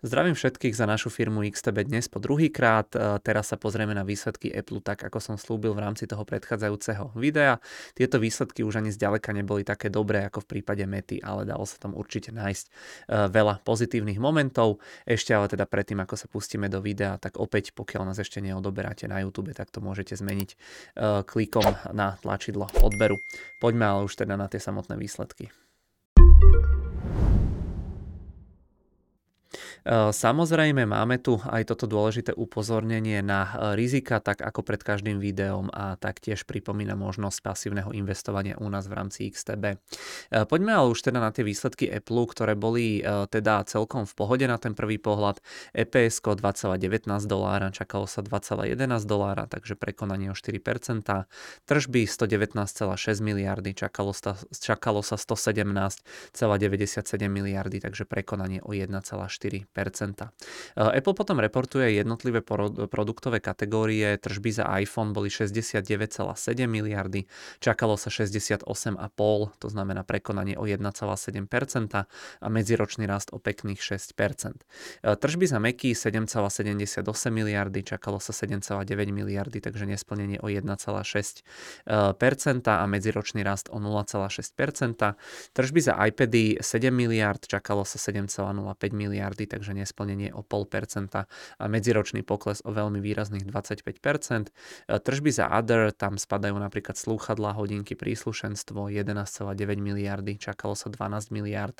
Zdravím všetkých za našu firmu XTB dnes po druhýkrát. Teraz sa pozrieme na výsledky Apple tak, ako som slúbil v rámci toho predchádzajúceho videa. Tieto výsledky už ani zďaleka neboli také dobré ako v prípade Mety, ale dalo sa tam určite nájsť veľa pozitívnych momentov. Ešte ale teda predtým, ako sa pustíme do videa, tak opäť, pokiaľ nás ešte neodoberáte na YouTube, tak to môžete zmeniť klikom na tlačidlo odberu. Poďme ale už teda na tie samotné výsledky. Samozrejme máme tu aj toto dôležité upozornenie na rizika, tak ako pred každým videom, a taktiež pripomína možnosť pasívneho investovania u nás v rámci XTB. Poďme ale už teda na tie výsledky Apple, ktoré boli teda celkom v pohode na ten prvý pohľad. EPS $2,19, čakalo sa $2,11, takže prekonanie o 4%. Tržby 119,6 miliardy, čakalo sa 117,97 miliardy, takže prekonanie o 1,4%. Apple potom reportuje jednotlivé produktové kategórie. Tržby za iPhone boli 69,7 miliardy, čakalo sa 68,5, to znamená prekonanie o 1,7% a medziročný rast o pekných 6%. Tržby za Macy 7,78 miliardy, čakalo sa 7,9 miliardy, takže nesplnenie o 1,6% a medziročný rast o 0,6%. Tržby za iPady 7 miliard, čakalo sa 7,05 miliardy, takže nesplnenie o 0,5% a medziročný pokles o veľmi výrazných 25%. Tržby za Other, tam spadajú napríklad slúchadlá, hodinky, príslušenstvo 11,9 miliardy, čakalo sa 12 miliard,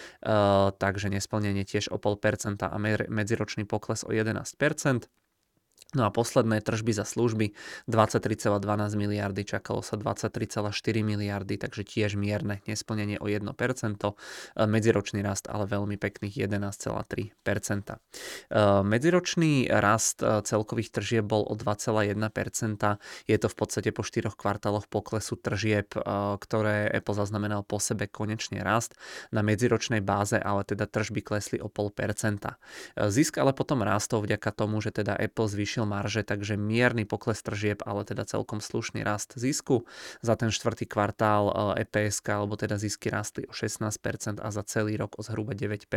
takže nesplnenie tiež o 0,5% a medziročný pokles o 11%. No a posledné tržby za služby 23,12 miliardy, čakalo sa 23,4 miliardy, takže tiež mierne nesplnenie o 1%, medziročný rast ale veľmi pekných 11,3%. Medziročný rast celkových tržieb bol o 2,1%, je to v podstate po 4 kvartáloch poklesu tržieb, ktoré Apple zaznamenal po sebe konečne rast na medziročnej báze, ale teda tržby klesli o 0,5%. Zisk ale potom rástol vďaka tomu, že teda Apple zvýšil marže, takže mierny pokles tržieb, ale teda celkom slušný rast zisku. Za ten štvrtý kvartál EPS, alebo teda zisky rastli o 16% a za celý rok o zhruba 9%.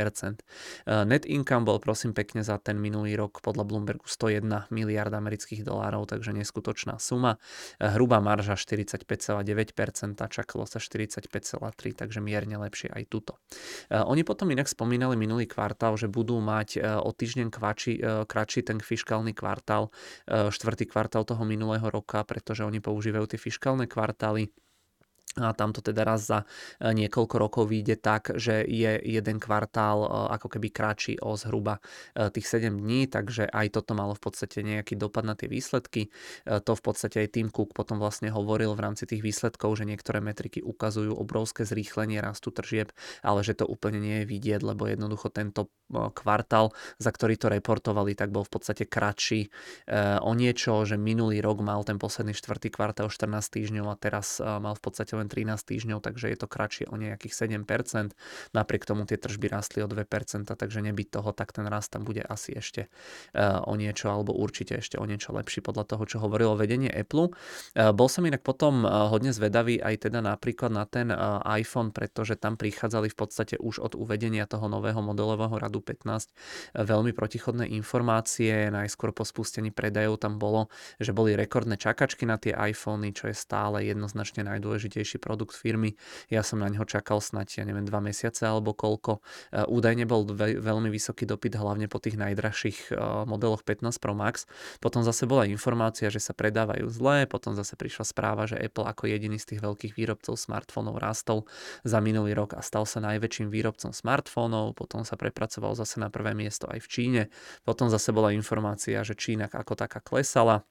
Net income bol prosím pekne za ten minulý rok podľa Bloombergu 101 miliard amerických dolárov, takže neskutočná suma. Hrubá marža 45,9%, čakalo sa 45,3%, takže mierne lepšie aj tuto. Oni potom inak spomínali minulý kvartál, že budú mať o týždeň kratší ten fiškálny kvartál, štvrtý kvartál toho minulého roka, pretože oni používajú tie fiškálne kvartály. A tamto teda raz za niekoľko rokov vyjde tak, že je jeden kvartál ako keby kratší o zhruba tých 7 dní, takže aj toto malo v podstate nejaký dopad na tie výsledky. To v podstate aj Tim Cook potom vlastne hovoril v rámci tých výsledkov, že niektoré metriky ukazujú obrovské zrýchlenie rastu tržieb, ale že to úplne nie je vidieť, lebo jednoducho tento kvartál, za ktorý to reportovali, tak bol v podstate kratší o niečo, že minulý rok mal ten posledný štvrtý kvartál 14 týždňov a teraz mal v podstate len 13 týždňov, takže je to kratšie o nejakých 7%. Napriek tomu tie tržby rastli o 2%, takže nebyť toho, tak ten rast tam bude asi ešte o niečo, alebo určite ešte o niečo lepší podľa toho, čo hovorilo vedenie Apple. Bol som inak potom hodne zvedavý aj teda napríklad na ten iPhone, pretože tam prichádzali v podstate už od uvedenia toho nového modelového radu 15 veľmi protichodné informácie. Najskôr po spustení predajov tam bolo, že boli rekordné čakačky na tie iPhony, čo je stále jednoznačne najdôležitejší produkt firmy. Ja som na neho čakal snáď, 2 mesiace alebo koľko. Údajne bol veľmi vysoký dopyt, hlavne po tých najdrahších modeloch 15 Pro Max. Potom zase bola informácia, že sa predávajú zle, potom zase prišla správa, že Apple ako jediný z tých veľkých výrobcov smartfónov rastol za minulý rok a stal sa najväčším výrobcom smartfónov, potom sa prepracoval zase na prvé miesto aj v Číne. Potom zase bola informácia, že Čína ako taká klesala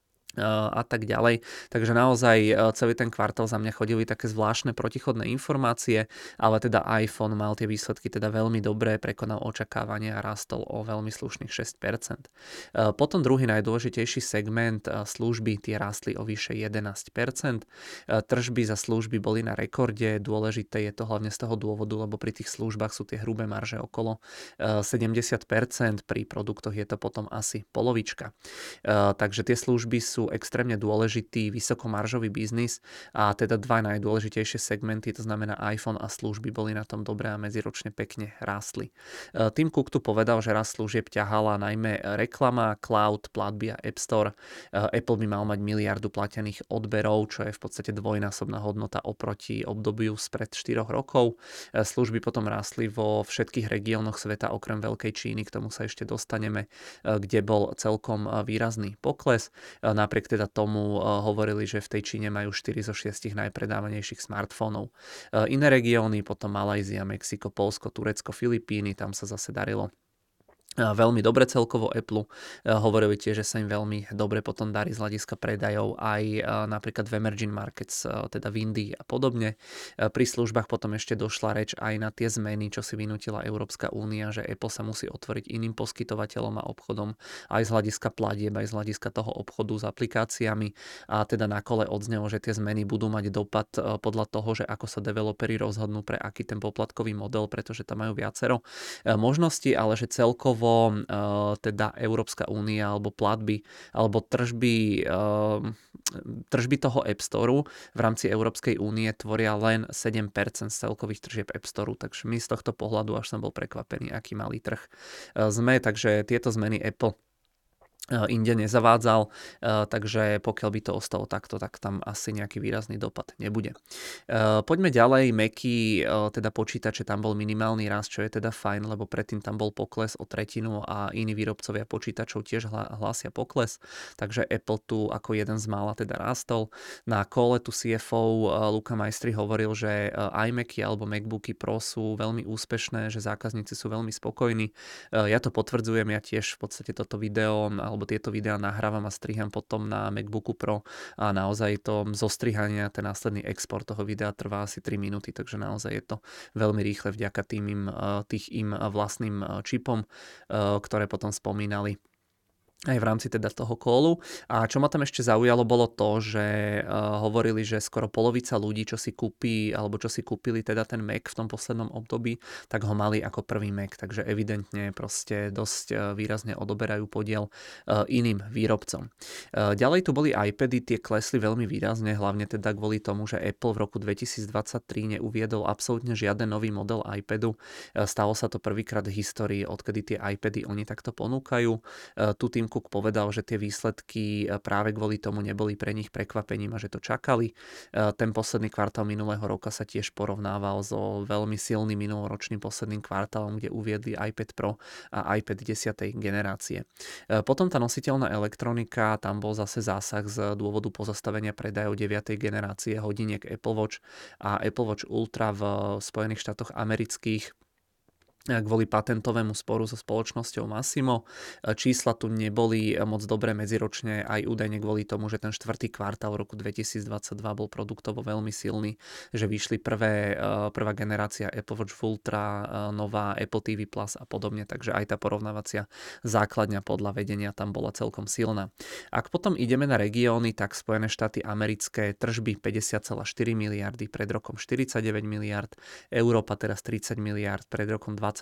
a tak ďalej. Takže naozaj celý ten kvartál za mňa chodili také zvláštne protichodné informácie, ale teda iPhone mal tie výsledky teda veľmi dobré, prekonal očakávania a rastol o veľmi slušných 6%. Potom druhý najdôležitejší segment služby, tie rástli o vyše 11%. Tržby za služby boli na rekorde, dôležité je to hlavne z toho dôvodu, lebo pri tých službách sú tie hrubé marže okolo 70%, pri produktoch je to potom asi polovička. Takže tie služby sú sú extrémne dôležitý vysokomaržový biznis a teda dva najdôležitejšie segmenty, to znamená iPhone a služby, boli na tom dobré a medziročne pekne rástli. Tim Cook tu povedal, že rast služieb ťahala najmä reklama, cloud, platby a App Store. Apple by mal mať miliardu platených odberov, čo je v podstate dvojnásobná hodnota oproti obdobiu spred 4 rokov. Služby potom rástli vo všetkých regiónoch sveta okrem Veľkej Číny, k tomu sa ešte dostaneme, kde bol celkom výrazný pokles. Napriek teda tomu hovorili, že v tej Číne majú 4 zo 6 najpredávanejších smartfónov. Iné regióny, potom Malajzia, Mexiko, Poľsko, Turecko, Filipíny, tam sa zase darilo veľmi dobre celkovo Apple. Hovorili tiež, že sa im veľmi dobre potom darí z hľadiska predajov aj napríklad v emerging markets, teda v Indii a podobne. Pri službách potom ešte došla reč aj na tie zmeny, čo si vynútila Európska únia, že Apple sa musí otvoriť iným poskytovateľom a obchodom aj z hľadiska platieb, aj z hľadiska toho obchodu s aplikáciami a teda na kole odznelo, že tie zmeny budú mať dopad podľa toho, že ako sa developeri rozhodnú pre aký ten poplatkový model, pretože tam majú viacero možností, ale že celkovo teda Európska únia alebo platby alebo tržby toho App Storeu v rámci Európskej únie tvoria len 7% z celkových tržieb App Storeu, takže my z tohto pohľadu až som bol prekvapený, aký malý trh sme, takže tieto zmeny Apple inde nezavádzal, takže pokiaľ by to ostalo takto, tak tam asi nejaký výrazný dopad nebude. Poďme ďalej, Macy, teda počítače, tam bol minimálny rast, čo je teda fajn, lebo predtým tam bol pokles o tretinu a iní výrobcovia počítačov tiež hlásia pokles, takže Apple tu ako jeden z mála teda rástol. Na kole tu CFO Luca Maestri hovoril, že iMacy alebo MacBooky Pro sú veľmi úspešné, že zákazníci sú veľmi spokojní. Ja to potvrdzujem, ja tiež v podstate toto video alebo tieto videá nahrávam a striham potom na MacBooku Pro a naozaj to zostrihanie a ten následný export toho videa trvá asi 3 minúty, takže naozaj je to veľmi rýchle vďaka tým im vlastným čipom, ktoré potom spomínali aj v rámci teda toho callu. A čo ma tam ešte zaujalo, bolo to, že hovorili, že skoro polovica ľudí, čo si kúpi, alebo čo si kúpili teda ten Mac v tom poslednom období, tak ho mali ako prvý Mac, takže evidentne proste dosť výrazne odoberajú podiel iným výrobcom. Ďalej tu boli iPady, tie klesli veľmi výrazne, hlavne teda kvôli tomu, že Apple v roku 2023 neuviedol absolútne žiaden nový model iPadu. Stalo sa to prvýkrát v histórii, odkedy tie iPady oni takto ponúkajú. Tu Tim Cook povedal, že tie výsledky práve kvôli tomu neboli pre nich prekvapením a že to čakali. Ten posledný kvartál minulého roka sa tiež porovnával so veľmi silným minuloročným posledným kvartálom, kde uviedli iPad Pro a iPad 10. generácie. Potom tá nositeľná elektronika, tam bol zase zásah z dôvodu pozastavenia predajov 9. generácie hodiniek Apple Watch a Apple Watch Ultra v Spojených štátoch amerických kvôli patentovému sporu so spoločnosťou Massimo. Čísla tu neboli moc dobré medziročne, aj údajne kvôli tomu, že ten štvrtý kvartál roku 2022 bol produktovo veľmi silný, že vyšli prvá generácia Apple Watch Ultra, nová Apple TV Plus a podobne, takže aj tá porovnávacia základňa podľa vedenia tam bola celkom silná. Ak potom ideme na regióny, tak Spojené štáty americké tržby 50,4 miliardy, pred rokom 49 miliard, Európa teraz 30 miliard, pred rokom 28,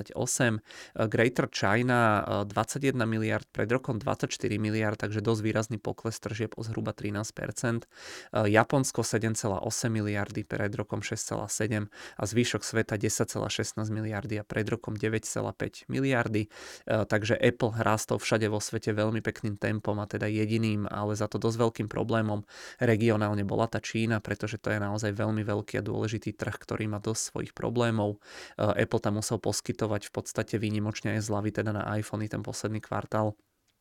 Greater China 21 miliard, pred rokom 24 miliard, takže dosť výrazný pokles tržieb o zhruba 13%. Japonsko 7,8 miliardy, pred rokom 6,7 a zvyšok sveta 10,16 miliardy a pred rokom 9,5 miliardy. Takže Apple rástol všade vo svete veľmi pekným tempom a teda jediným, ale za to dosť veľkým problémom regionálne bola tá Čína, pretože to je naozaj veľmi veľký a dôležitý trh, ktorý má dosť svojich problémov. Apple tam musel poskytovať v podstate výnimočne aj zľavy teda na iPhony ten posledný kvartál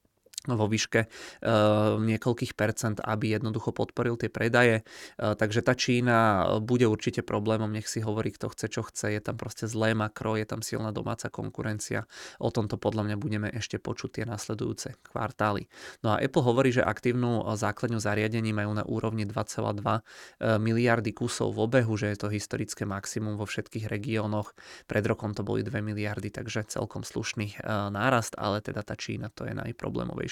vo výške niekoľkých percent, aby jednoducho podporil tie predaje. Takže tá Čína bude určite problémom, nech si hovorí, kto chce, čo chce. Je tam proste zlé makro, je tam silná domáca konkurencia. O tomto podľa mňa budeme ešte počuť tie nasledujúce kvartály. No a Apple hovorí, že aktívnu základňu zariadení majú na úrovni 2,2 miliardy kusov v obehu, že je to historické maximum vo všetkých regiónoch. Pred rokom to boli 2 miliardy, takže celkom slušný nárast, ale teda tá Čína to je najproblémovejšie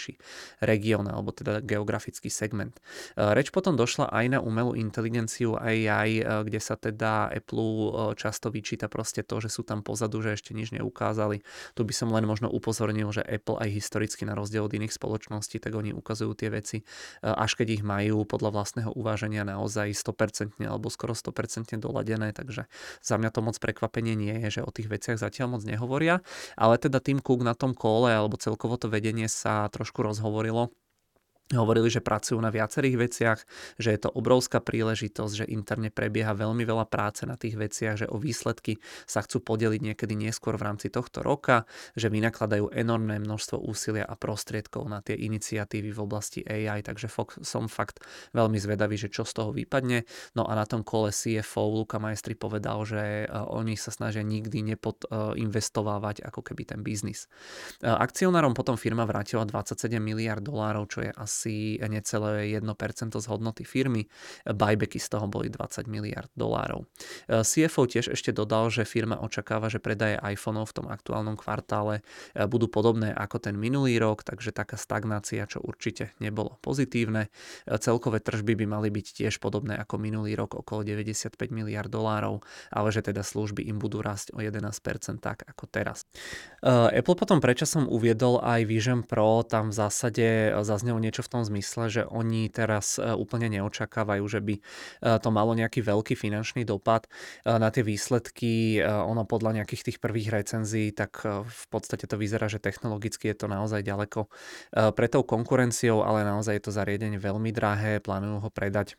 najdôležitejší región alebo teda geografický segment. Reč potom došla aj na umelú inteligenciu AI, kde sa teda Apple často vyčíta proste to, že sú tam pozadu, že ešte nič neukázali. Tu by som len možno upozornil, že Apple aj historicky na rozdiel od iných spoločností, tak oni ukazujú tie veci, až keď ich majú podľa vlastného uváženia naozaj 100% alebo skoro 100% doladené, takže za mňa to moc prekvapenie nie je, že o tých veciach zatiaľ moc nehovoria, ale teda Tim Cook na tom kole alebo celkovo to vedenie sa trošku rozhovorilo. Hovorili, že pracujú na viacerých veciach, že je to obrovská príležitosť, že interne prebieha veľmi veľa práce na tých veciach, že o výsledky sa chcú podeliť niekedy neskôr v rámci tohto roka, že vynakladajú enormné množstvo úsilia a prostriedkov na tie iniciatívy v oblasti AI, takže som fakt veľmi zvedavý, že čo z toho vypadne. No a na tom kole CFO Luca Maestri povedal, že oni sa snažia nikdy nepodinvestovávať ako keby ten biznis. Akcionárom potom firma vrátila 27 miliard dolárov, čo je asi necelé 1% z hodnoty firmy. Buybacky z toho boli 20 miliard dolárov. CFO tiež ešte dodal, že firma očakáva, že predaje iPhoneov v tom aktuálnom kvartále budú podobné ako ten minulý rok, takže taká stagnácia, čo určite nebolo pozitívne. Celkové tržby by mali byť tiež podobné ako minulý rok, okolo 95 miliard dolárov, ale že teda služby im budú rásť o 11% tak ako teraz. Apple potom predčasom uviedol aj Vision Pro, tam v zásade zaznelo niečo v tom zmysle, že oni teraz úplne neočakávajú, že by to malo nejaký veľký finančný dopad na tie výsledky. Ono podľa nejakých tých prvých recenzií, tak v podstate to vyzerá, že technologicky je to naozaj ďaleko pre tou konkurenciou, ale naozaj je to zariadenie veľmi drahé, plánujú ho predať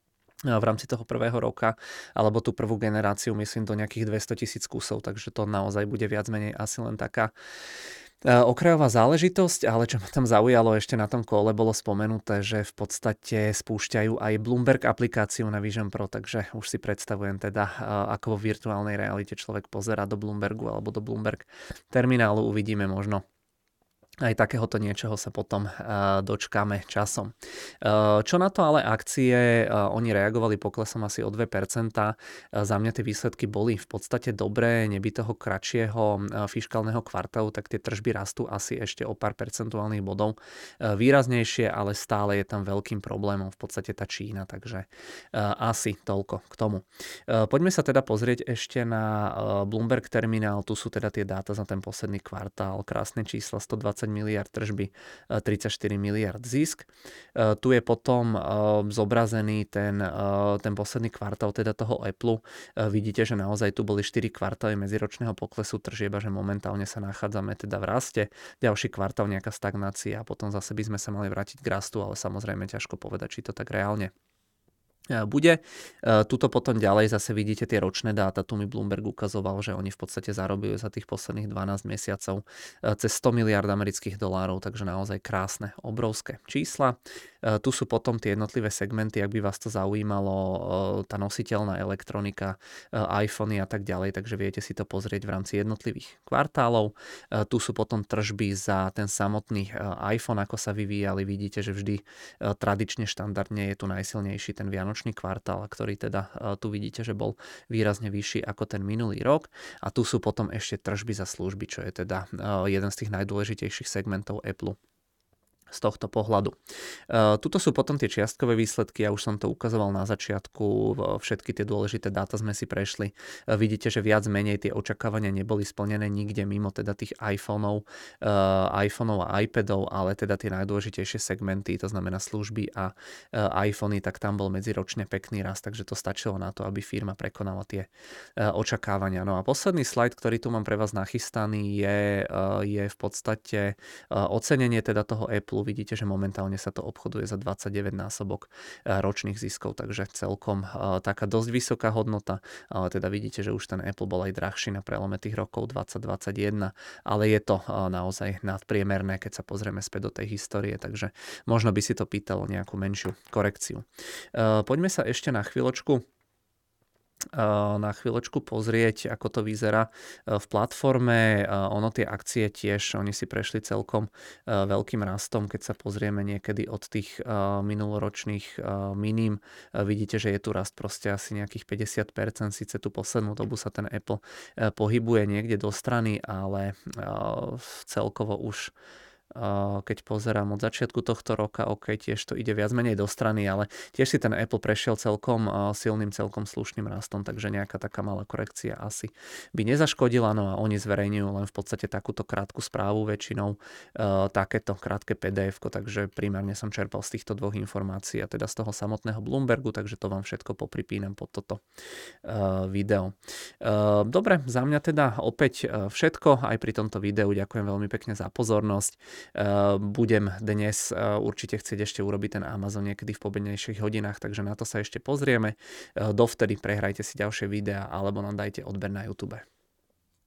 v rámci toho prvého roka, alebo tú prvú generáciu, myslím, do nejakých 200 000 kusov, takže to naozaj bude viac menej asi len taká okrajová záležitosť, ale čo ma tam zaujalo ešte na tom kole, bolo spomenuté, že v podstate spúšťajú aj Bloomberg aplikáciu na Vision Pro, takže už si predstavujem teda, ako vo virtuálnej realite človek pozerá do Bloombergu alebo do Bloomberg terminálu, uvidíme možno. Aj takéhoto niečoho sa potom dočkáme časom. Čo na to ale akcie, oni reagovali poklesom asi o 2%. Za mňa tie výsledky boli v podstate dobré, neby toho kratšieho fiškálneho kvartálu, tak tie tržby rastú asi ešte o pár percentuálnych bodov. Výraznejšie, ale stále je tam veľkým problémom v podstate tá Čína, takže asi toľko k tomu. Poďme sa teda pozrieť ešte na Bloomberg terminál, tu sú teda tie dáta za ten posledný kvartál, krásne čísla, 120 miliard tržby, 34 miliard zisk. Tu je potom zobrazený ten posledný kvartál teda toho Apple. Vidíte, že naozaj tu boli 4 kvartály medziročného poklesu tržieb a že momentálne sa nachádzame teda v raste. Ďalší kvartál nejaká stagnácia a potom zase by sme sa mali vrátiť k rastu, ale samozrejme ťažko povedať, či to tak reálne bude. Tuto potom ďalej zase vidíte tie ročné dáta, tu mi Bloomberg ukazoval, že oni v podstate zarobili za tých posledných 12 mesiacov cez 100 miliard amerických dolárov, takže naozaj krásne, obrovské čísla. Tu sú potom tie jednotlivé segmenty, ak by vás to zaujímalo, tá nositeľná elektronika, iPhony a tak ďalej, takže viete si to pozrieť v rámci jednotlivých kvartálov. Tu sú potom tržby za ten samotný iPhone, ako sa vyvíjali, vidíte, že vždy tradične štandardne je tu najsilnejší ten vianočný kvartál, ktorý teda tu vidíte, že bol výrazne vyšší ako ten minulý rok. A tu sú potom ešte tržby za služby, čo je teda jeden z tých najdôležitejších segmentov Apple z tohto pohľadu. Tuto sú potom tie čiastkové výsledky, ja už som to ukazoval na začiatku, všetky tie dôležité dáta sme si prešli. Vidíte, že viac menej tie očakávania neboli splnené nikde mimo teda tých iPhoneov a iPadov, ale teda tie najdôležitejšie segmenty, to znamená služby a iPhony, tak tam bol medziročne pekný rast, takže to stačilo na to, aby firma prekonala tie očakávania. No a posledný slajd, ktorý tu mám pre vás nachystaný, je v podstate ocenenie teda toho Apple. Vidíte, že momentálne sa to obchoduje za 29 násobok ročných ziskov, takže celkom taká dosť vysoká hodnota, ale teda vidíte, že už ten Apple bol aj drahší na prelome tých rokov 2021, ale je to naozaj nadpriemerné, keď sa pozrieme späť do tej histórie, takže možno by si to pýtalo nejakú menšiu korekciu. Poďme sa ešte na chvíľočku pozrieť, ako to vyzerá v platforme. Ono tie akcie tiež, oni si prešli celkom veľkým rastom, keď sa pozrieme niekedy od tých minuloročných minim. Vidíte, že je tu rast proste asi nejakých 50%, síce tú poslednú dobu sa ten Apple pohybuje niekde do strany, ale celkovo už keď pozerám od začiatku tohto roka, OK, tiež to ide viac menej do strany, ale tiež si ten Apple prešiel celkom silným, celkom slušným rastom, takže nejaká taká malá korekcia asi by nezaškodila, no a oni zverejňujú len v podstate takúto krátku správu väčšinou, takéto krátke PDF-ko, takže primárne som čerpal z týchto dvoch informácií a teda z toho samotného Bloombergu, takže to vám všetko popripínam pod toto video. Dobre, za mňa teda opäť všetko, aj pri tomto videu ďakujem veľmi pekne za pozornosť. Budem dnes určite chcieť ešte urobiť ten Amazon niekedy v pobednejších hodinách, takže na to sa ešte pozrieme. Dovtedy prehrajte si ďalšie videá alebo nám dajte odber na YouTube.